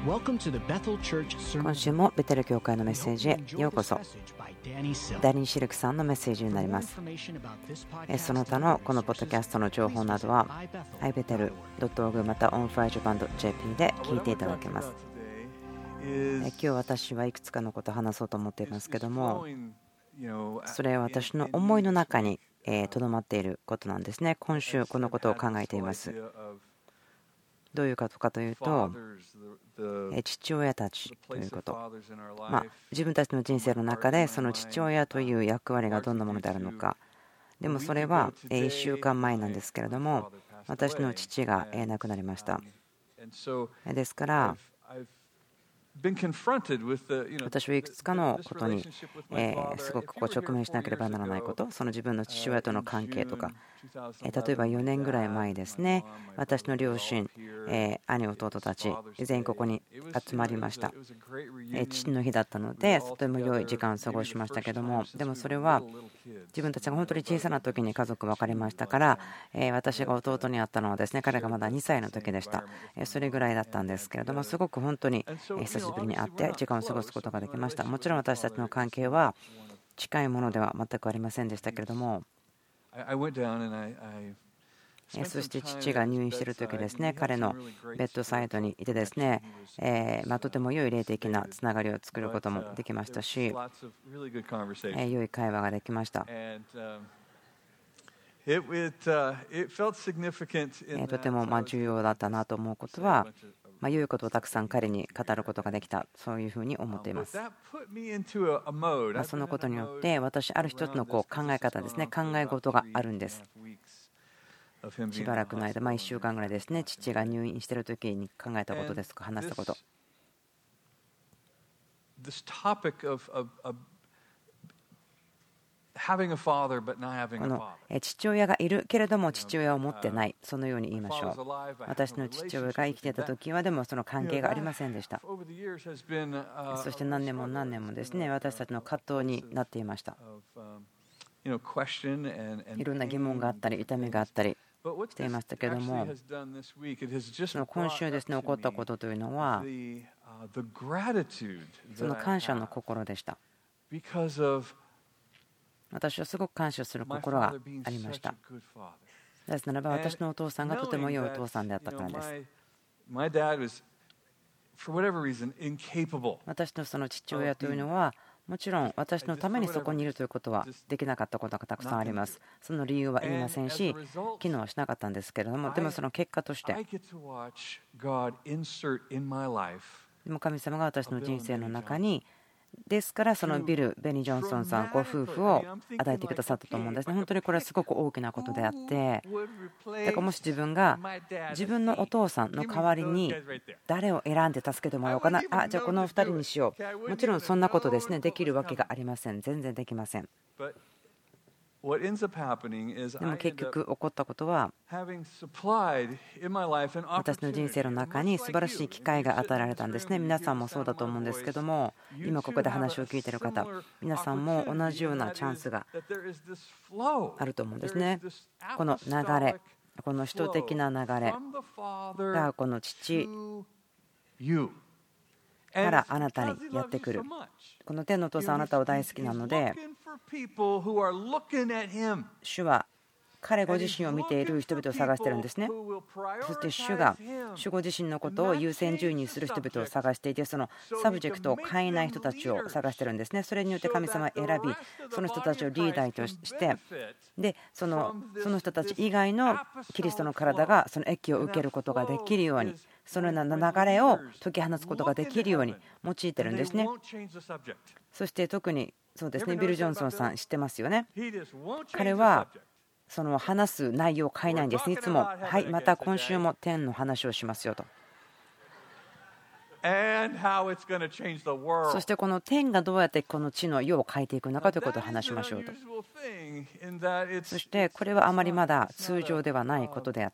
今週もベテル教会のメッセージへようこそ。ダニー・シルクさんのメッセージになります。その他のこのポッドキャストの情報などは ibetel.org また onfirejapan.jp で聞いていただけます。今日私はいくつかのことを話そうと思っていますけども、それは私の思いの中にとどまっていることなんですね。今週このことを考えています。どういうことかというと、父親たちということ、自分たちの人生の中でその父親という役割がどんなものであるのか。でもそれは1週間前なんですけれども、私の父が亡くなりました。ですから私はいくつかのことにすごく直面しなければならないこと、その自分の父親との関係とか、例えば4年ぐらい前ですね、私の両親、兄弟たち全員ここに集まりました。父の日だったのでとても良い時間を過ごしましたけども、でもそれは自分たちが本当に小さな時に家族別れましたから、私が弟に会ったのはですね、彼がまだ2歳の時でした。それぐらいだったんですけれども、すごく本当に久しぶりに会って時間を過ごすことができました。もちろん私たちの関係は近いものでは全くありませんでしたけれども、そして父が入院している時ですね、彼のベッドサイドにいてですね、とても良い霊的なつながりを作ることもできましたし、良い会話ができました。とても重要だったなと思うことは、良いことをたくさん彼に語ることができた、そういうふうに思っています。そのことによって私ある一つの考え方ですね、考え事があるんです。しばらくの間、1週間ぐらいですね、父が入院している時に考えたことですとか話したこと。この父親がいるけれども父親を持ってない、そのように言いましょう。私の父親が生きていた時はでもその関係がありませんでした。そして何年も何年もですね、私たちの葛藤になっていました。いろんな疑問があったり痛みがあったりしていましたけれども、その今週ですね起こったことというのはその感謝の心でした。私はすごく感謝する心がありました。なぜならば私のお父さんがとても良いお父さんであったからです。私のその父親というのはもちろん私のためにそこにいるということはできなかったことがたくさんあります。その理由は言いませんし機能はしなかったんですけれども、でもその結果としてでも神様が私の人生の中にですからそのベニー・ジョンソンさんご夫婦を与えてくださったと思うんですね。本当にこれはすごく大きなことであって、だからもし自分が自分のお父さんの代わりに誰を選んで助けてもらおうかな、じゃあこの2人にしよう、もちろんそんなことですねできるわけがありません。全然できません。でも結局起こったことは私の人生の中に素晴らしい機会が与えられたんですね。皆さんもそうだと思うんですけども、今ここで話を聞いている方皆さんも同じようなチャンスがあると思うんですね。この流れ、この使徒的な流れがこの父からあなたにやってくる。この天のお父さんあなたは大好きなので、主は彼ご自身を見ている人々を探しているんですね。そして主が主ご自身のことを優先順位にする人々を探していて、そのサブジェクトを変えない人たちを探しているんですね。それによって神様を選び、その人たちをリーダーとしてでその人たち以外のキリストの体がその益を受けることができるように、そのような流れを解き放つことができるように用いているんですね。そして特にそうですね、ビル・ジョンソンさん知ってますよね。彼はその話す内容を変えないんです。いつもはい、また今週も天の話をしますよと。そしてこの天がどうやってこの地の世を変えていくのかということを話しましょうと。そしてこれはあまりまだ通常ではないことであって、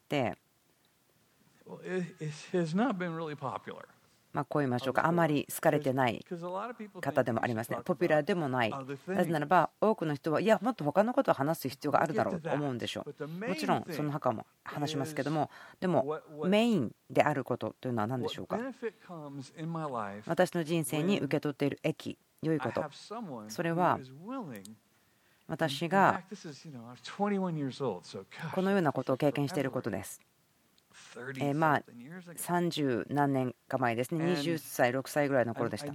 こう言いましょうか、あまり好かれてない方でもありますね。ポピュラーでもない。なぜならば多くの人はいやもっと他のことを話す必要があるだろうと思うんでしょう。もちろんその他も話しますけども、でもメインであることというのは何でしょうか。私の人生に受け取っている益、良いこと、それは私がこのようなことを経験していることです。30何年か前ですね、20歳、6歳ぐらいの頃でした。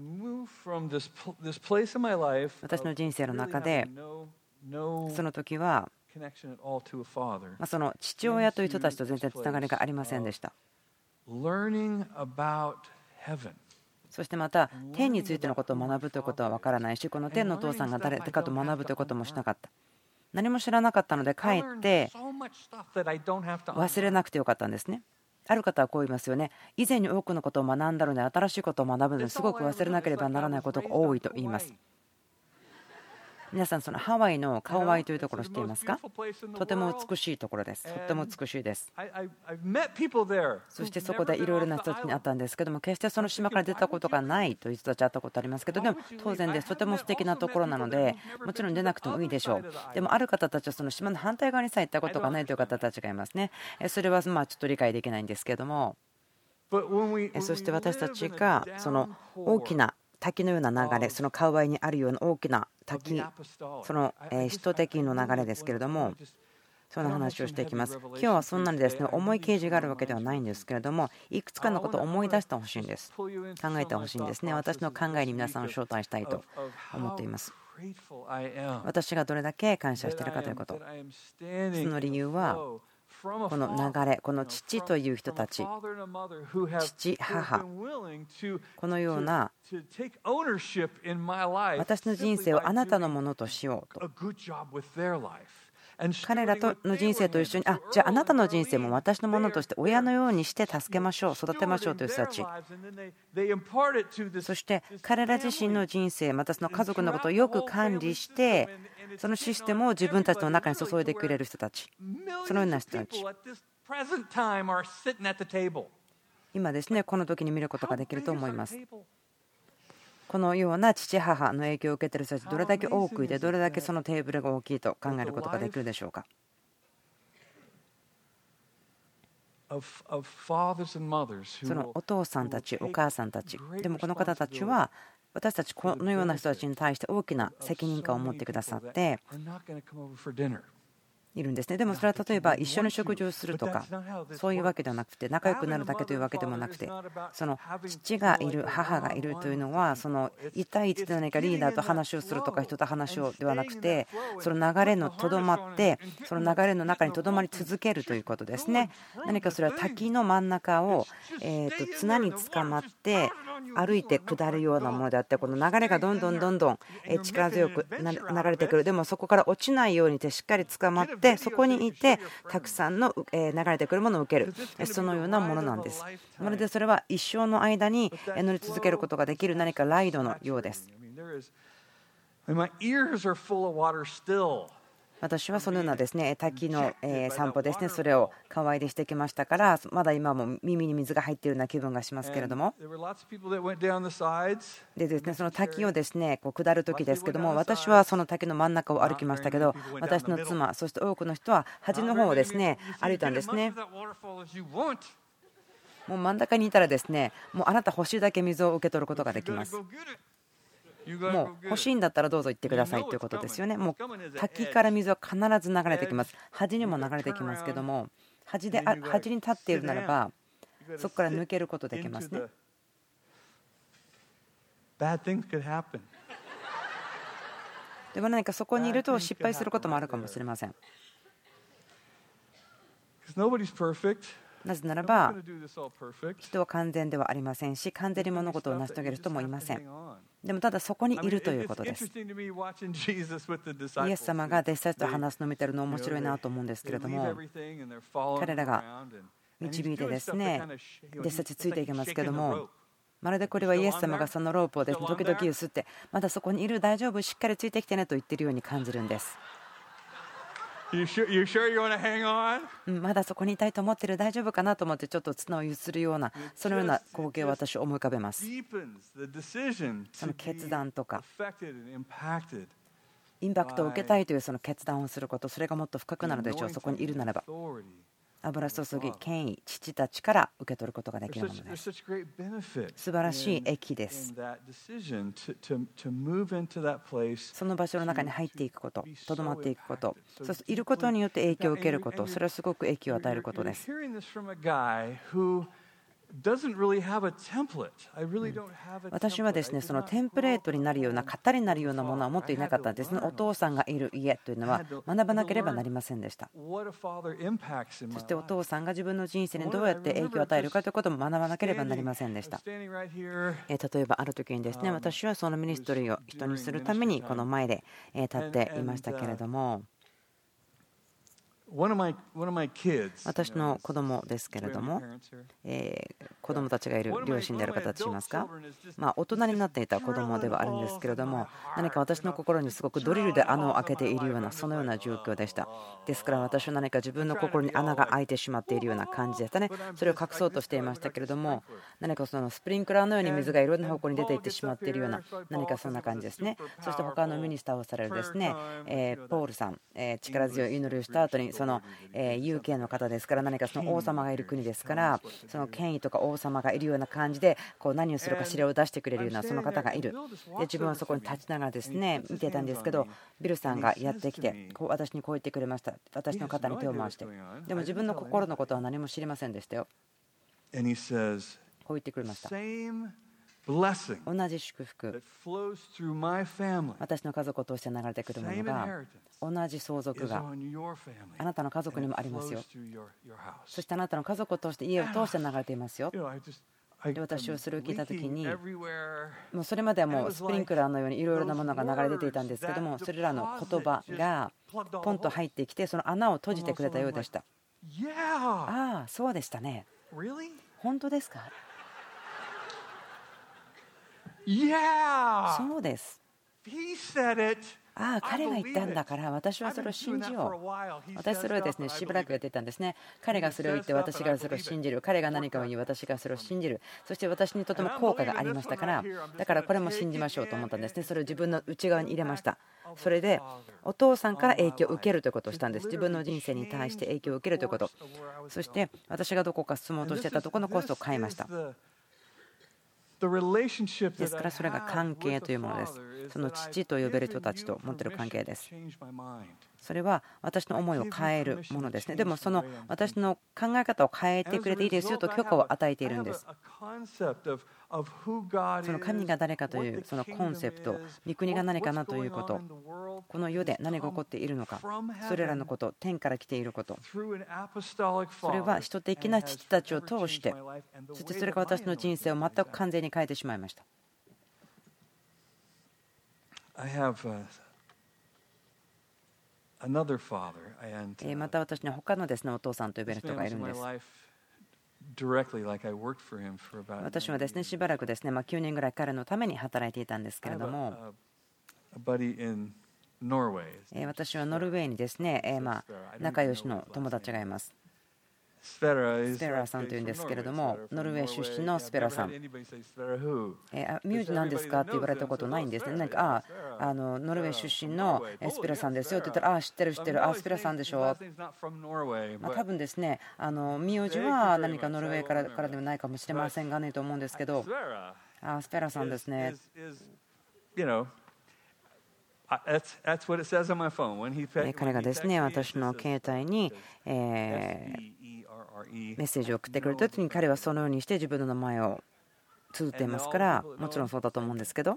私の人生の中で、その時は、その父親という人たちと全然つながりがありませんでした。そしてまた、天についてのことを学ぶということは分からないし、この天のお父さんが誰かと学ぶということもしなかった。何も知らなかったので、かえって忘れなくてよかったんですね。ある方はこう言いますよね。以前に多くのことを学んだので、新しいことを学ぶのですごく忘れなければならないことが多いと言います。皆さん、そのハワイのカウアイというところを知っていますか。とても美しいところです。とても美しいです。そしてそこでいろいろな人たちに会ったんですけども、決してその島から出たことがないという人たち会ったことありますけど、でも当然です。とても素敵なところなので、もちろん出なくてもいいでしょう。でもある方たちはその島の反対側にさえ行ったことがないという方たちがいますね。それはちょっと理解できないんですけども、そして私たちがその大きな滝のような流れ、そのカウアイにあるような大きな滝、その使徒的の流れですけれども、その話をしていきます。今日はそんなにですね、重い啓示があるわけではないんですけれども、いくつかのことを思い出してほしいんです。考えてほしいんですね。私の考えに皆さんを招待したいと思っています。私がどれだけ感謝しているかということ。その理由は、この流れ、この父という人たち、父、母、このような私の人生をあなたのものとしようと。彼らの人生と一緒に、じゃああなたの人生も私のものとして親のようにして助けましょう、育てましょうという人たち。そして彼ら自身の人生、またその家族のことをよく管理して、そのシステムを自分たちの中に注いでくれる人たち、そのような人たち。今ですね、この時に見ることができると思います。このような父母の影響を受けている人たち、どれだけ多くいて、どれだけそのテーブルが大きいと考えることができるでしょうか。そのお父さんたち、お母さんたち、でもこの方たちは私たちこのような人たちに対して大きな責任感を持ってくださっているんですね。でもそれは例えば一緒に食事をするとかそういうわけではなくて、仲良くなるだけというわけでもなくて、その父がいる、母がいるというのは、その1対1で何かリーダーと話をするとか人と話をではなくて、その流れのとどまって、その流れの中にとどまり続けるということですね。何かそれは滝の真ん中を綱につかまって歩いて下るようなものであって、この流れがどんどん力強く流れてくる。でもそこから落ちないようにしてしっかり捕まって、そこにいてたくさんの流れてくるものを受ける、そのようなものなんです。まるでそれは一生の間に乗り続けることができる何かライドのようです。私はそのようなですね、滝の散歩ですね、それを川合でしてきましたから、まだ今も耳に水が入っているような気分がしますけれども、でですね、その滝をですねこう下る時ですけども、私はその滝の真ん中を歩きましたけど、私の妻、そして多くの人は端の方をですね歩いたんですね。もう真ん中にいたらですね、もうあなた欲しいだけ水を受け取ることができます。もう欲しいんだったらどうぞ行ってくださいということですよね。もう滝から水は必ず流れてきます。端にも流れてきますけども、端に立っているならばそこから抜けることできますね。でも何かそこにいると失敗することもあるかもしれません。なぜならば人は完全ではありませんし、完全に物事を成し遂げる人もいません。でもただそこにいるということです。イエス様が弟子たちと話すのを見てるの面白いなと思うんですけれども、彼らが導いてですね弟子たちついていきますけども、まるでこれはイエス様がそのロープをですね時々揺すって、まだそこにいる、大丈夫、しっかりついてきてねと言っているように感じるんです。まだそこにいたいと思ってる、大丈夫かなと思ってちょっと綱を揺するような、そのような光景を私は思い浮かべます。その決断とかインパクトを受けたいというその決断をすること、それがもっと深くなるでしょう、そこにいるならば。 油注ぎ、権威、父たちから受け取ることができるものです。素晴らしい益です。その場所の中に入っていくこと、とどまっていくこと、そういることによって影響を受けること、それはすごく益を与えることです。私はですね、そのテンプレートになるような、型になるようなものは持っていなかったんですね。お父さんがいる家というのは学ばなければなりませんでした。そしてお父さんが自分の人生にどうやって影響を与えるかということも学ばなければなりませんでした。例えばある時にですね、私はそのミニストリーを人にするためにこの前で立っていましたけれども、私の子供ですけれども、子供たちがいる両親である方としますか、大人になっていた子供ではあるんですけれども、何か私の心にすごくドリルで穴を開けているような、そのような状況でした。ですから私は何か自分の心に穴が開いてしまっているような感じでしたね。それを隠そうとしていましたけれども、何かそのスプリンクラーのように水がいろんな方向に出ていってしまっているような、何かそんな感じですね。そして他のミニスターをされるですね、ポールさん、力強い祈りをした後にその有権の方ですから、何かその王様がいる国ですから、その権威とか王様がいるような感じでこう何をするか指令を出してくれるようなその方がいる。で自分はそこに立ちながらですね見ていたんですけど、ビルさんがやってきて私にこう言ってくれました。私の肩に手を回して、でも自分の心のことは何も知りませんでしたよ。こう言ってくれました。同じ祝福、私の家族を通して流れてくるものが、同じ相続があなたの家族にもありますよ。そしてあなたの家族を通して家を通して流れていますよ。で私はそれを聞いたときに、もうそれまではもうスプリンクラーのようにいろいろなものが流れ出ていたんですけども、それらの言葉がポンと入ってきて、その穴を閉じてくれたようでした。ああ、そうでしたね。本当ですか？そうです。ああ、彼が言ったんだから私はそれを信じよう。私それをですねしばらくやってたんですね。彼がそれを言って私がそれを信じる。彼が何かを言い私がそれを信じる。そして私にとても効果がありましたから、だからこれも信じましょうと思ったんですね。それを自分の内側に入れました。それでお父さんから影響を受けるということをしたんです。自分の人生に対して影響を受けるということ。そして私がどこか進もうとしてたところのコースを変えました。ですからそれが関係というものです。その父と呼べる人たちと持っている関係です。それは私の思いを変えるものですね。でもその私の考え方を変えてくれていいですよと許可を与えているんです。その神が誰かというそのコンセプト、御国が何かなということ、この世で何が起こっているのか、それらのこと、天から来ていること、それは人的な父たちを通して、そしてそれが私の人生を全く完全に変えてしまいました。また私には他のですねお父さんと呼べる人がいるんです。私はですねしばらくですね9年ぐらい彼のために働いていたんですけれども、私はノルウェーにですね仲良しの友達がいます。スペラさんというんですけれども、ノルウェー出身のスペラさん。名字なんですかって言われたことないんですね。なんかノルウェー出身のスペラさんですよって言ったら、知ってる知ってる、スペラさんでしょ。多分ですね名字は何かノルウェーからではないかもしれませんがねと思うんですけど、スペラさんですね。彼がですね私の携帯にメッセージを送ってくれた時に、彼はそのようにして自分の名前を綴っていますから、もちろんそうだと思うんですけど、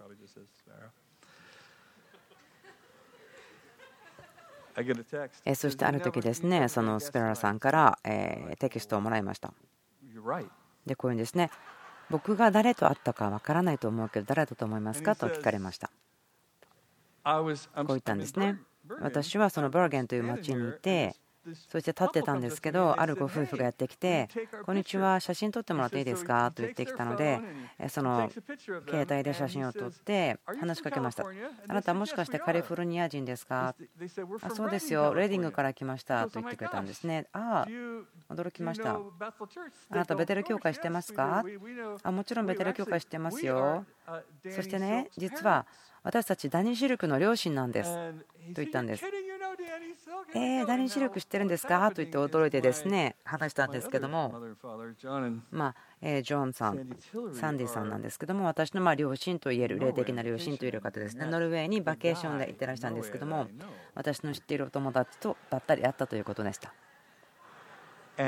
そしてある時ですねそのスペラさんからテキストをもらいました。でこういうんですね、僕が誰と会ったかわからないと思うけど誰だと思いますかと聞かれました。こう言ったんですね。私はそのバーゲンという町にいて、そして立ってたんですけど、あるご夫婦がやってきて、こんにちは、写真撮ってもらっていいですかと言ってきたので、その携帯で写真を撮って話しかけました。あなたもしかしてカリフォルニア人ですか？そうですよ、レディングから来ましたと言ってくれたんですね。驚きました。あなたベテル教会してますか？もちろんベテル教会してますよ。そしてね、実は私たちダニー・シルクの両親なんですと言ったんです。 ダニー・シルク知ってるんですかと言って驚いてですね話したんですけども、ジョンさん、サンディさんなんですけども、私の両親といえる霊的な両親といえる方ですね。ノルウェーにバケーションで行ってらしたんですけども、私の知っているお友達とばったり会ったということでした。そ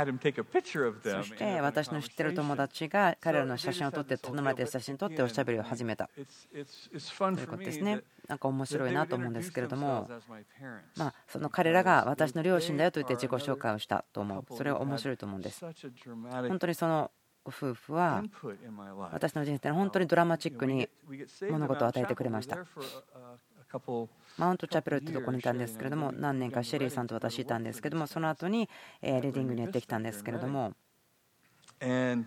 して私の知っている友達が彼らの写真を撮って頼まれて写真を撮っておしゃべりを始めたということですね。なんか面白いなと思うんですけれども、その彼らが私の両親だよと言って自己紹介をしたと思う。それは面白いと思うんです。本当にそのご夫婦は私の人生の本当にドラマチックに物事を与えてくれました。マウントチャペルってところにいたんですけれども、何年かシェリーさんと私いたんですけども、その後にリーディングにやってきたんですけれども、あ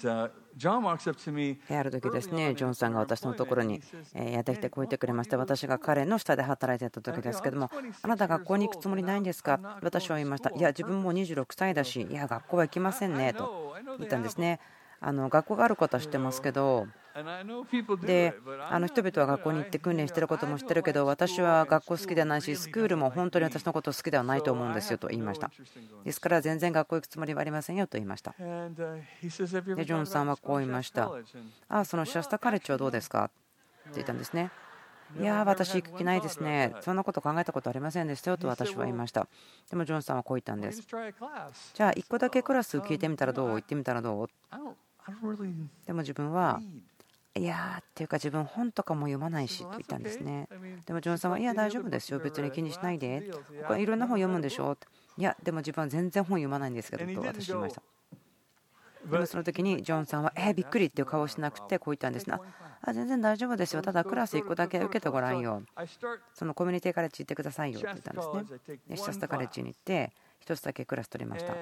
る時ですね、ジョンさんが私のところにやってきてこう言ってくれました。私が彼の下で働いていた時ですけども、あなた学校に行くつもりないんですか、私は言いました。いや、自分も26歳だし、いや、学校は行きませんねと言ったんですね。学校があることは知ってますけど、で人々は学校に行って訓練していることも知ってるけど、私は学校好きではないし、スクールも本当に私のこと好きではないと思うんですよと言いました。ですから全然学校行くつもりはありませんよと言いました。でジョンさんはこう言いました。そのシャスタカレッジはどうですかって言ったんですね。いや私行く気ないですね、そんなこと考えたことありませんでしたよと私は言いました。でもジョンさんはこう言ったんです。じゃあ1個だけクラス聞いてみたらどう、行ってみたらどう。でも自分はいやっていうか自分本とかも読まないしと言ったんですね。でもジョンさんはいや大丈夫ですよ、別に気にしないで、他いろんな本読むんでしょ。いやでも自分は全然本読まないんですけどと私言いました。でもその時にジョンさんはびっくりっていう顔をしなくてこう言ったんですね。全然大丈夫ですよ、ただクラス1個だけ受けてごらんよ、そのコミュニティカレッジ行ってくださいよって言ったんですね。でシャスタカレッジに行って1つだけクラス取りました。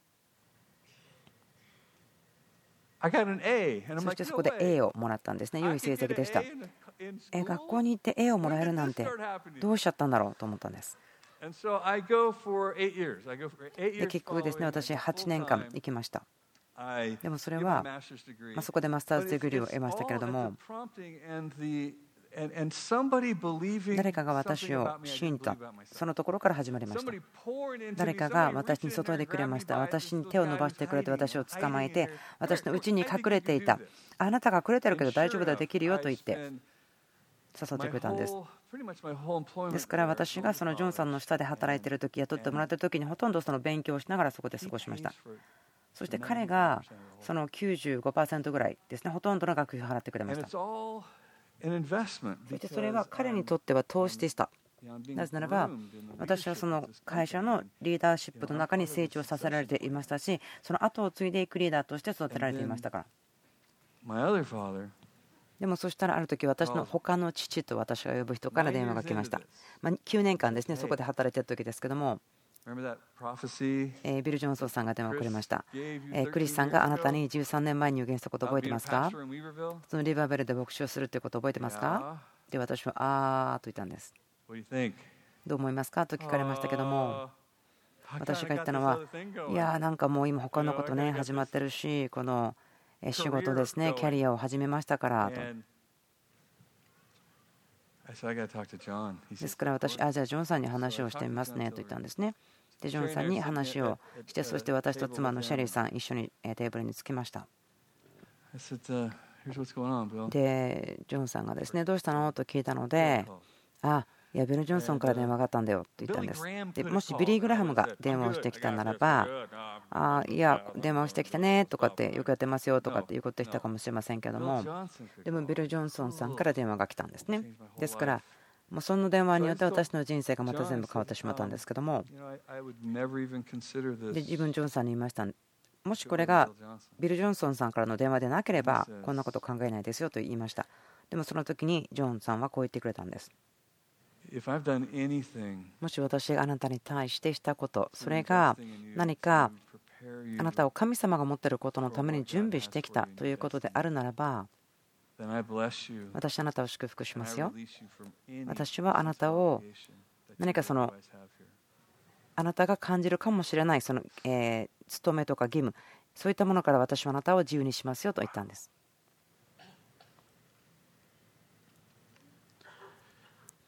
そしてそこで A をもらったんですね。良い成績でした。学校に行って A をもらえるなんてどうしちゃったんだろうと思ったんです。で結局ですね、私8年間行きました。でもそれはそこでマスターズディグリーを得ましたけれども、誰かが私を信じた、そのところから始まりました。誰かが私に注いでくれました。私に手を伸ばしてくれて、私を捕まえて、私の内に隠れていた、あなたが隠れてるけど大丈夫だ、できるよと言って誘ってくれたんです。ですから私がそのジョンさんの下で働いている時、雇ってもらっている時にほとんどその勉強をしながらそこで過ごしました。そして彼がその 95% ぐらいですね、ほとんどの学費を払ってくれました。そしてそれは彼にとっては投資でした。なぜならば私はその会社のリーダーシップの中に成長させられていましたし、その後を継いでいくリーダーとして育てられていましたから。でもそしたらある時、私の他の父と私が呼ぶ人から電話が来ました。9年間ですね、そこで働いている時ですけども、ビル・ジョンソンさんが電話をくれました。クリスさんがあなたに13年前に予言したこと覚えてますか、そのリバーベルで牧師をするということ覚えてますか。で私はと言ったんです。どう思いますかと聞かれましたけども、私が言ったのは、いやなんかもう今他のことね始まってるし、この仕事ですね、キャリアを始めましたからと。ですから私、じゃあジョンさんに話をしてみますねと言ったんですね。でジョンさんに話をして、そして私と妻のシェリーさん一緒にテーブルに着きました。でジョンさんがですね、どうしたのと聞いたので、いやビル・ジョンソンから電話があったんだよって言ったんです。でもしビリー・グラハムが電話をしてきたならば、いや電話をしてきたねとかってよくやってますよとかっていうことでしたかもしれませんけども、でもビル・ジョンソンさんから電話が来たんですね。ですからもうその電話によって私の人生がまた全部変わってしまったんですけども、で自分ジョンさんに言いました。もしこれがビル・ジョンソンさんからの電話でなければこんなこと考えないですよと言いました。でもその時にジョンさんはこう言ってくれたんです。もし私があなたに対してしたこと、それが何かあなたを神様が持っていることのために準備してきたということであるならば、私あなたを祝福しますよ。私はあなたを何かあなたが感じるかもしれないその務めとか義務、そういったものから私はあなたを自由にしますよと言ったんです。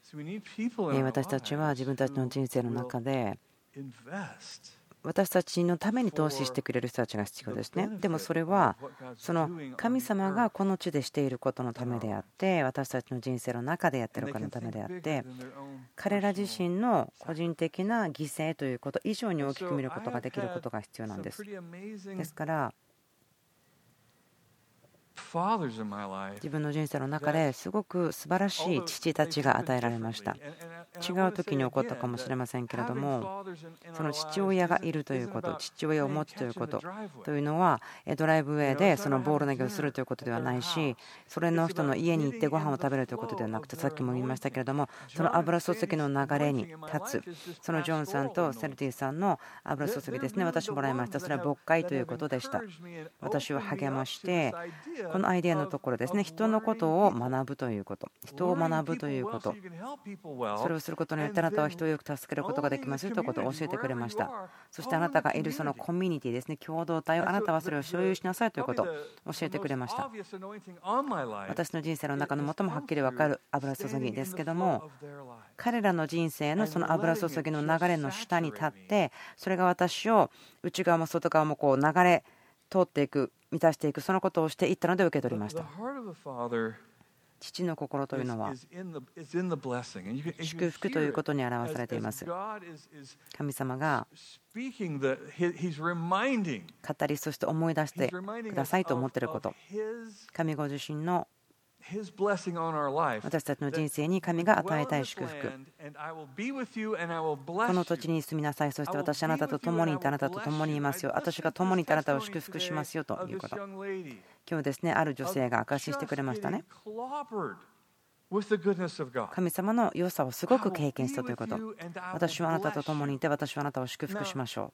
私たちは自分たちの人生の中で私たちのために投資してくれる人たちが必要ですね。でもそれはその神様がこの地でしていることのためであって、私たちの人生の中でやっていることのためであって、彼ら自身の個人的な犠牲ということ以上に大きく見ることができることが必要なんです。ですから自分の人生の中ですごく素晴らしい父たちが与えられました。違う時に起こったかもしれませんけれども、その父親がいるということ、父親を持つということというのはドライブウェイでそのボール投げをするということではないし、それの人の家に行ってご飯を食べるということではなくて、さっきも言いましたけれども、その油注ぎの流れに立つ、そのジョンさんとセルティさんの油注ぎですね、私もらいました。それは牧会ということでした。私を励ましてこのアイデアのところですね、人のことを学ぶということ、人を学ぶということ、それをすることによってあなたは人をよく助けることができますよということを教えてくれました。そしてあなたがいるそのコミュニティですね、共同体をあなたはそれを所有しなさいということを教えてくれました。私の人生の中の最もはっきり分かる油注ぎですけども、彼らの人生のその油注ぎの流れの下に立って、それが私を内側も外側もこう流れ通っていく、満たしていく、そのことをしていったので受け取りました。父の心というのは祝福ということに表されています。神様が語り、そして思い出してくださいと思っていること、神ご自身の私たちの人生に神が与えたい祝福、この土地に住みなさい、そして私あなたと共にいてあなたと共にいますよ、私が共にいてあなたを祝福しますよということ。今日ですね、ある女性が証ししてくれましたね。神様の良さをすごく経験したということ。私はあなたと共にいて私はあなたを祝福しましょう。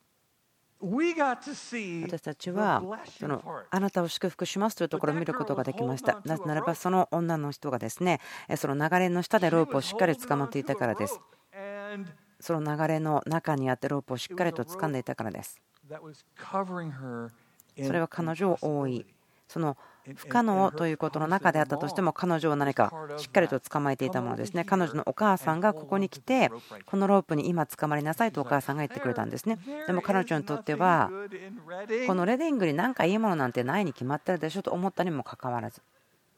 私たちはそのあなたを祝福しますというところを見ることができました。なぜならばその女の人がですね、その流れの下でロープをしっかり掴まっていたからです。その流れの中にあってロープをしっかりと掴んでいたからです。それは彼女を覆い、その不可能ということの中であったとしても彼女を何かしっかりと捕まえていたものですね。彼女のお母さんがここに来てこのロープに今捕まりなさいとお母さんが言ってくれたんですね。でも彼女にとってはこのレディングに何かいいものなんてないに決まってるでしょと思ったにもかかわらず、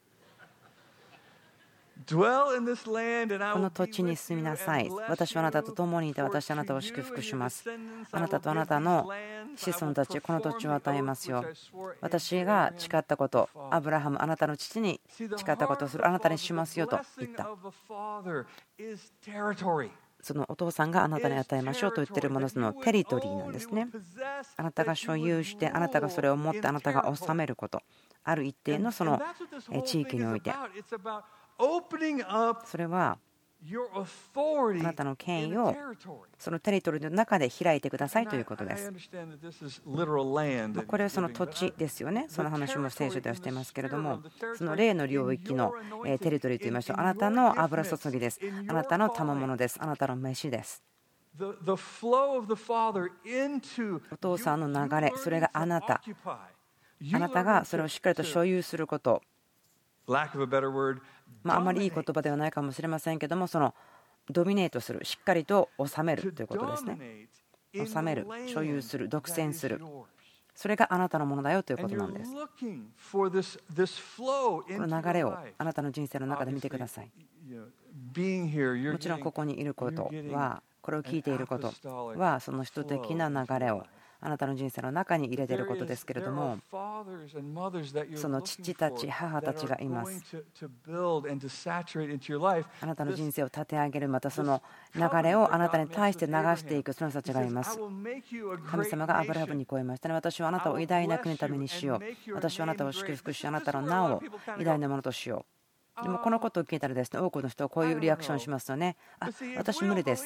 この土地に住みなさい、私はあなたと共にいて私はあなたを祝福します、あなたとあなたの子孫たちこの土地を与えますよ、私が誓ったこと、アブラハムあなたの父に誓ったことをするあなたにしますよと言った。そのお父さんがあなたに与えましょうと言っているもの、そのテリトリーなんですね。あなたが所有してあなたがそれを持ってあなたが治めること、ある一定のその地域において、それはあなたの権威をそのテリトリーの中で開いてくださいということです。これはその土地ですよね。その話も聖書ではしていますけれども、その霊の領域のテリトリーといいましょう。あなたの油注ぎです。あなたの賜物です。あなたの飯です。お父さんの流れ、それがあなたがそれをしっかりと所有すること、あまりいい言葉ではないかもしれませんけども、そのドミネートする、しっかりと治めるということですね。治める、所有する、独占する、それがあなたのものだよということなんです。この流れをあなたの人生の中で見てください。もちろんここにいることは、これを聞いていることはその人的な流れをあなたの人生の中に入れていることですけれども、その父たち母たちがいます。あなたの人生を立て上げる、またその流れをあなたに対して流していくその人たちがいます。神様がアブラハムにこう言いましたね。私はあなたを偉大な国のためにしよう。私はあなたを祝福し、あなたの名を偉大なものとしよう。でもこのことを聞いたらですね、多くの人はこういうリアクションしますよね。私無理です。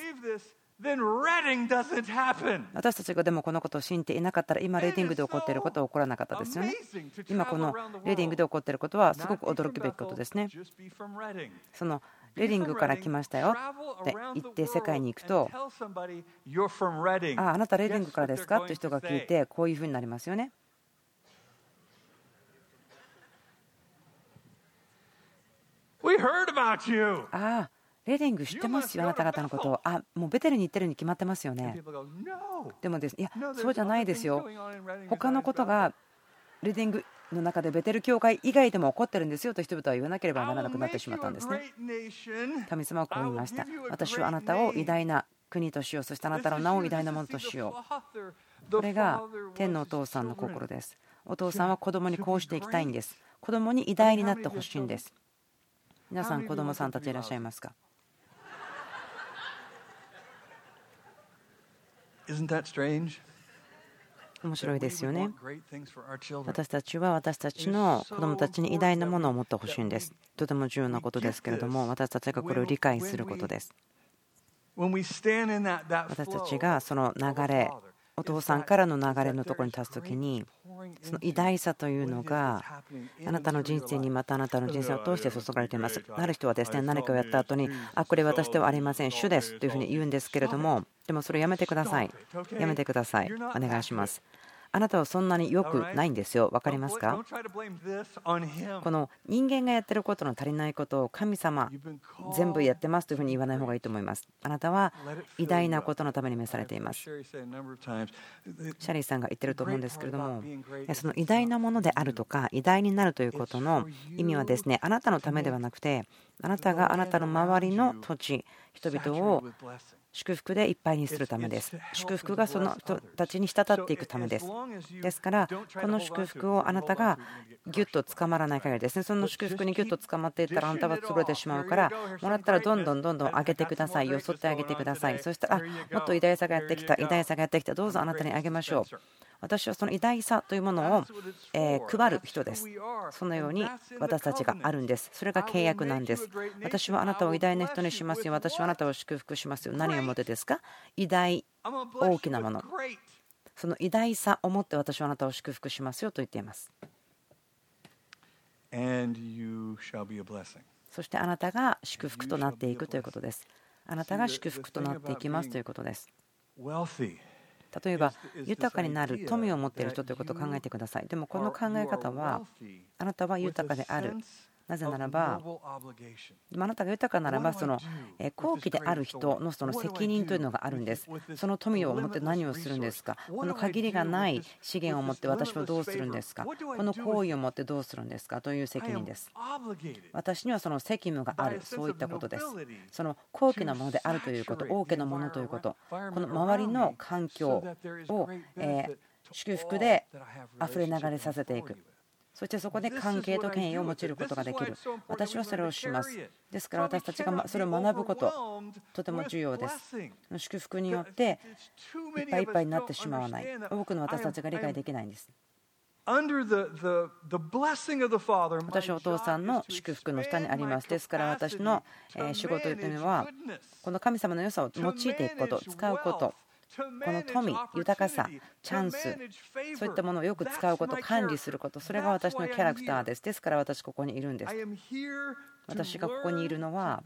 私たちがでもこのことを信じていなかったら今レディングで起こっていることは起こらなかったですよね。今このレディングで起こっていることはすごく驚くべきことですね。そのレディングから来ましたよって言って世界に行くと、あなたレディングからですかって人が聞いてこういうふうになりますよね。ああレディング知ってますよ、あなた方のことを。もうベテルに行ってるに決まってますよね。でもですね、いや、そうじゃないですよ。他のことがレディングの中でベテル教会以外でも起こってるんですよと人々は言わなければならなくなってしまったんですね。神様はこう言いました。私はあなたを偉大な国としよう。そしてあなたの名を偉大なものとしよう。これが天のお父さんの心です。お父さんは子供にこうしていきたいんです。子供に偉大になってほしいんです。皆さん子供さんたちいらっしゃいますか？面白いですよね。私たちは私たちの子どもたちに偉大なものを持ってほしいんです。とても重要なことですけれども、私たちがこれを理解することです。私たちがその流れ、お父さんからの流れのところに立つときに、その偉大さというのがあなたの人生に、またあなたの人生を通して注がれています。ある人はですね、何かをやった後に、これ私ではありません、主ですというふうに言うんですけれども、でもそれやめてください。やめてください。お願いします。あなたはそんなに良くないんですよ。分かりますか？この人間がやってることの足りないことを神様全部やってますというふうに言わない方がいいと思います。あなたは偉大なことのために召されています。シャリーさんが言ってると思うんですけれども、その偉大なものであるとか偉大になるということの意味はですね、あなたのためではなくて、あなたがあなたの周りの土地、人々を祝福でいっぱいにするためです。祝福がその人たちに滴っていくためです。ですから、この祝福をあなたがギュッと捕まらない限りですね、その祝福にギュッと捕まっていったらあなたは潰れてしまうから、もらったらどんどん上げてください。よそってあげてください。そしたら、もっと偉大さがやってきた、偉大さがやってきた、どうぞあなたにあげましょう。私はその偉大さというものを配る人です。そのように私たちがあるんです。それが契約なんです。私はあなたを偉大な人にしますよ。私はあなたを祝福しますよ。何をもってですか？偉大、大きなもの。その偉大さをもって私はあなたを祝福しますよと言っています。そしてあなたが祝福となっていくということです。あなたが祝福となっていきますということです。例えば豊かになる富を持っている人ということを考えてください。でもこの考え方は、あなたは豊かである。なぜならば、あなたが豊かならば、その高貴である人のその責任というのがあるんです。その富を持って何をするんですか？この限りがない資源を持って私はどうするんですか？この行為を持ってどうするんですか？という責任です。私にはその責務がある、そういったことです。その高貴なものであるということ、大きなものということ、この周りの環境を祝福であふれ流れさせていく。そしてそこで関係と権威を用いることができる。私はそれをします。ですから私たちがそれを学ぶこと、とても重要です。祝福によっていっぱいいっぱいになってしまわない。多くの私たちが理解できないんです。私はお父さんの祝福の下にあります。ですから私の仕事というのは、この神様の良さを用いていくこと、使うこと、この富、豊かさ、チャンス、そういったものをよく使うこと、管理すること、それが私のキャラクターです。ですから私ここにいるんです。私がここにいるのは、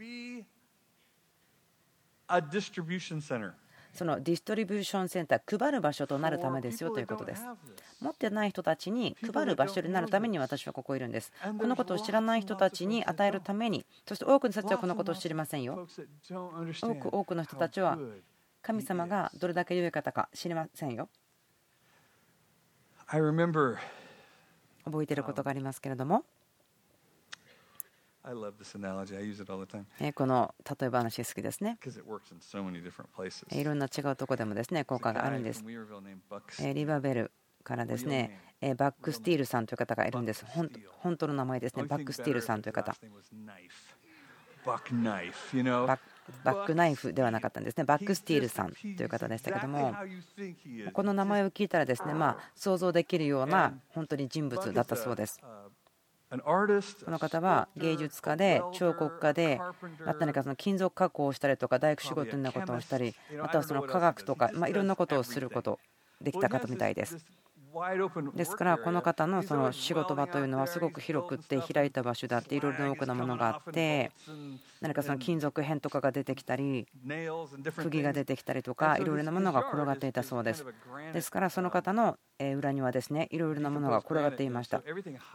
そのディストリビューションセンター、配る場所となるためですよということです。持ってない人たちに配る場所になるために私はここにいるんです。このことを知らない人たちに与えるために、そして多くの人たちはこのことを知りませんよ。多くの人たちは神様がどれだけ良い方か知りませんよ。覚えていることがありますけれども、この例え話好きですね。いろんな違うところでもですね、効果があるんです。リバベルからですね、バックスティールさんという方がいるんです。本当の名前ですね、バックスティールさんという方。バックナイフではなかったんですね。バックスティールさんという方でしたけども、この名前を聞いたらですね、想像できるような本当に人物だったそうです。この方は芸術家で彫刻家で、何かその金属加工をしたりとか大工仕事のようなことをしたり、またはその科学とかいろんなことをすることできた方みたいです。 ですからこの方のその仕事場というのはすごく広くって開いた場所であって、いろいろな多くのものがあって、何かその金属片とかが出てきたり釘が出てきたりとか、いろいろなものが転がっていたそうです。ですからその方の裏にはですね、いろいろなものが転がっていました。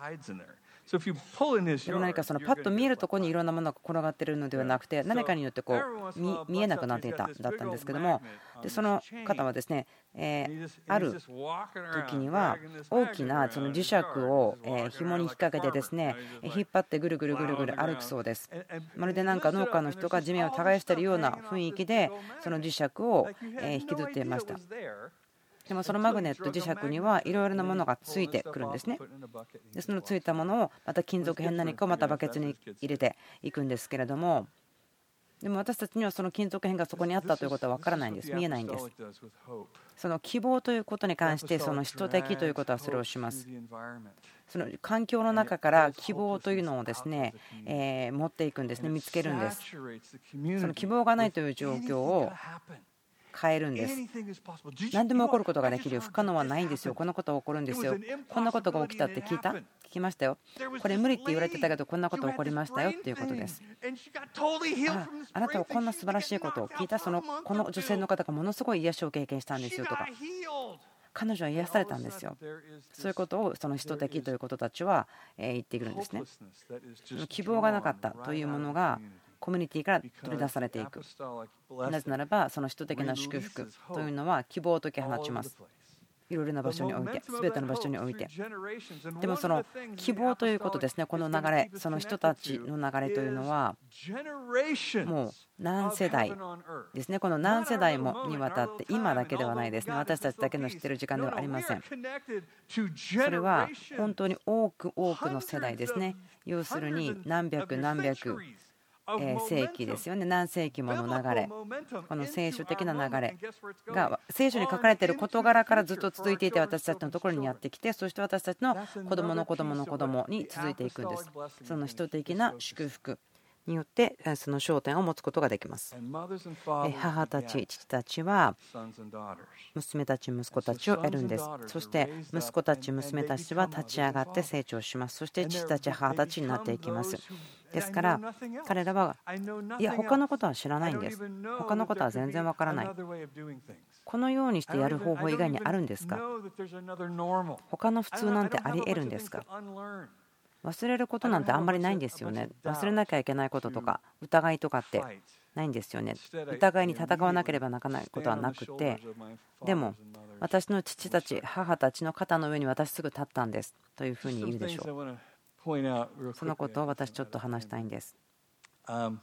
でも何かそのパッと見えるところにいろんなものが転がっているのではなくて、何かによってこう見えなくなっていただったんですけども、でその方はですね、ある時には大きなその磁石を紐に引っ掛けてですね、引っ張ってぐるぐるぐるぐる歩くそうです。まるでなんか農家の人が地面を耕しているような雰囲気でその磁石を引きずっていました。でもそのマグネット磁石にはいろいろなものがついてくるんですね。でそのついたものをまた金属片何かをまたバケツに入れていくんですけれども、でも私たちにはその金属片がそこにあったということは分からないんです。見えないんです。その希望ということに関して、その使徒的ということはそれをします。その環境の中から希望というのをですね、持っていくんですね。見つけるんです。その希望がないという状況を変えるんです。何でも起こることができるよ。不可能はないんですよ。こんなことが起こるんですよ。こんなことが起きたって聞きましたよ。これ無理って言われてたけど、こんなこと起こりましたよっていうことです。あなたはこんな素晴らしいことを聞いた。この女性の方がものすごい癒しを経験したんですよとか、彼女は癒されたんですよ。そういうことをその使徒的ということたちは言ってくるんですね。希望がなかったというものがコミュニティから取り出されていく。なぜならばその使徒的な祝福というのは希望を解き放ちます。いろいろな場所において、すべての場所において。でもその希望ということですね、この流れ、その人たちの流れというのはもう何世代ですね。この何世代もにわたって、今だけではないですね。私たちだけの知っている時間ではありません。それは本当に多くの世代ですね。要するに何百何百世紀ですよね。何世紀もの流れ、この聖書的な流れが聖書に書かれている事柄からずっと続いていて、私たちのところにやってきて、そして私たちの子供の子供の子供に続いていくんです。その人的な祝福によってその焦点を持つことができます。母たち、父たちは娘たち、息子たちを得るんです。そして息子たち、娘たちは立ち上がって成長します。そして父たち、母たちになっていきます。ですから彼らはいや他のことは知らないんです。他のことは全然わからない。このようにしてやる方法以外にあるんですか？他の普通なんてあり得るんですか？忘れることなんてあんまりないんですよね。忘れなきゃいけないこととか疑いとかってないんですよね。疑いに戦わなければならないことはなくて、でも私の父たち、母たちの肩の上に私すぐ立ったんですというふうに言うでしょう。そのことを私ちょっと話したいんです。そ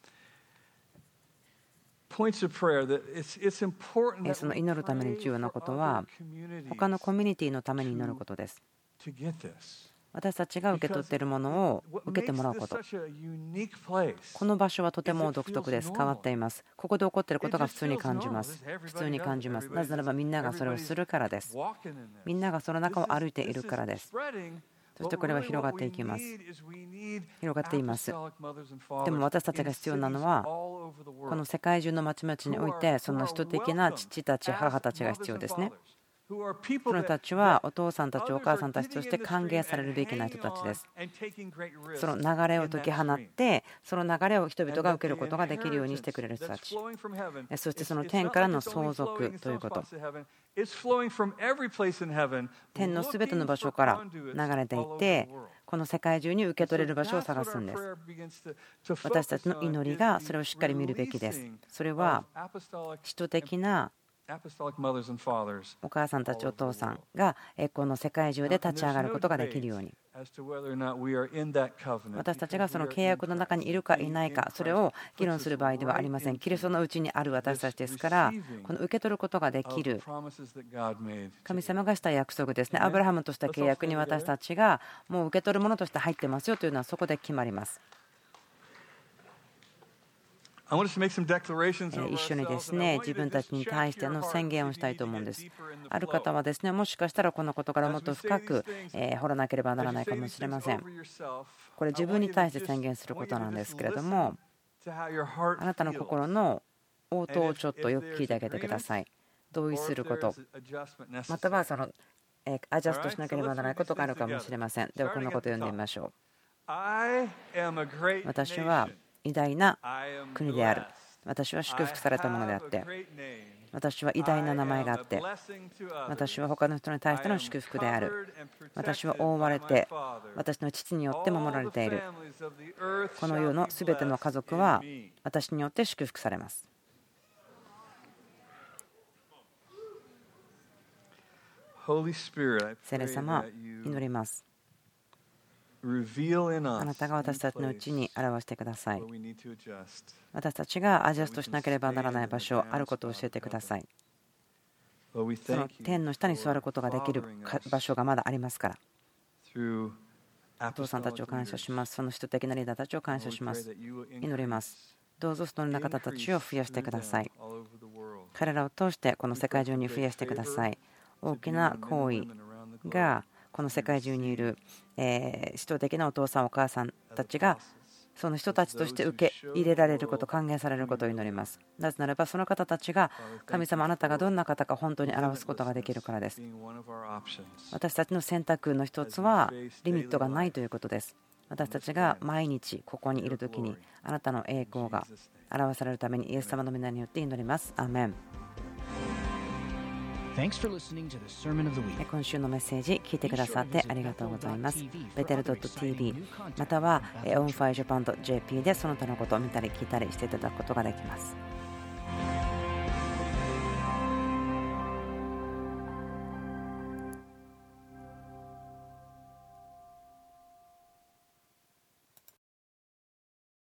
の祈るために重要なことは、他のコミュニティのために祈ることです。私たちが受け取っているものを受けてもらうこと。この場所はとても独特です。変わっています。ここで起こっていることが普通に感じます。普通に感じます。なぜならばみんながそれをするからです。みんながその中を歩いているからです。そしてこれは広がっていきます。広がっています。でも私たちが必要なのは、この世界中の町々において、その人的な父たち、母たちが必要ですね。その人たちはお父さんたち、お母さんたちとして歓迎されるべきな人たちです。その流れを解き放って、その流れを人々が受けることができるようにしてくれる人たち。そしてその天からの相続ということ。天のすべての場所から流れていって、この世界中に受け取れる場所を探すんです。私たちの祈りがそれをしっかり見るべきです。それは使徒的なお母さんたち、お父さんがこの世界中で立ち上がることができるように、私たちがその契約の中にいるかいないか、それを議論する場合ではありません。キリストのうちにある私たちですから、この受け取ることができる神様がした約束ですね。アブラハムとした契約に私たちがもう受け取るものとして入ってますよというのはそこで決まります。一緒にですね、自分たちに対しての宣言をしたいと思うんです。ある方はですね、もしかしたらこのことからもっと深く掘らなければならないかもしれません。これ自分に対して宣言することなんですけれども、あなたの心の応答をちょっとよく聞いてあげてください。同意すること、またはそのアジャストしなければならないことがあるかもしれません。ではこんなことを読んでみましょう。私は偉大な国である。私は祝福されたものであって、私は偉大な名前があって、私は他の人に対しての祝福である。私は覆われて、私の父によって守られている。この世のすべての家族は私によって祝福されます。聖霊様、祈ります。あなたが私たちのうちに表してください。私たちがアジャストしなければならない場所、あることを教えてください。その天の下に座ることができる場所がまだありますから。お父さんたちを感謝します。その人的なリーダーたちを感謝します。祈ります。どうぞそのような方たちを増やしてください。彼らを通してこの世界中に増やしてください。大きな行為がこの世界中にいる使徒的なお父さんお母さんたちがその人たちとして受け入れられること、歓迎されることを祈ります。なぜならばその方たちが神様あなたがどんな方か本当に表すことができるからです。私たちの選択の一つはリミットがないということです。私たちが毎日ここにいるときにあなたの栄光が表されるためにイエス様の皆によって祈ります。アーメン。今週のメッセージ聞いてくださってありがとうございます。ベテル .tv または onfirejapan.jp でその他のことを見たり聞いたりしていただくことができます。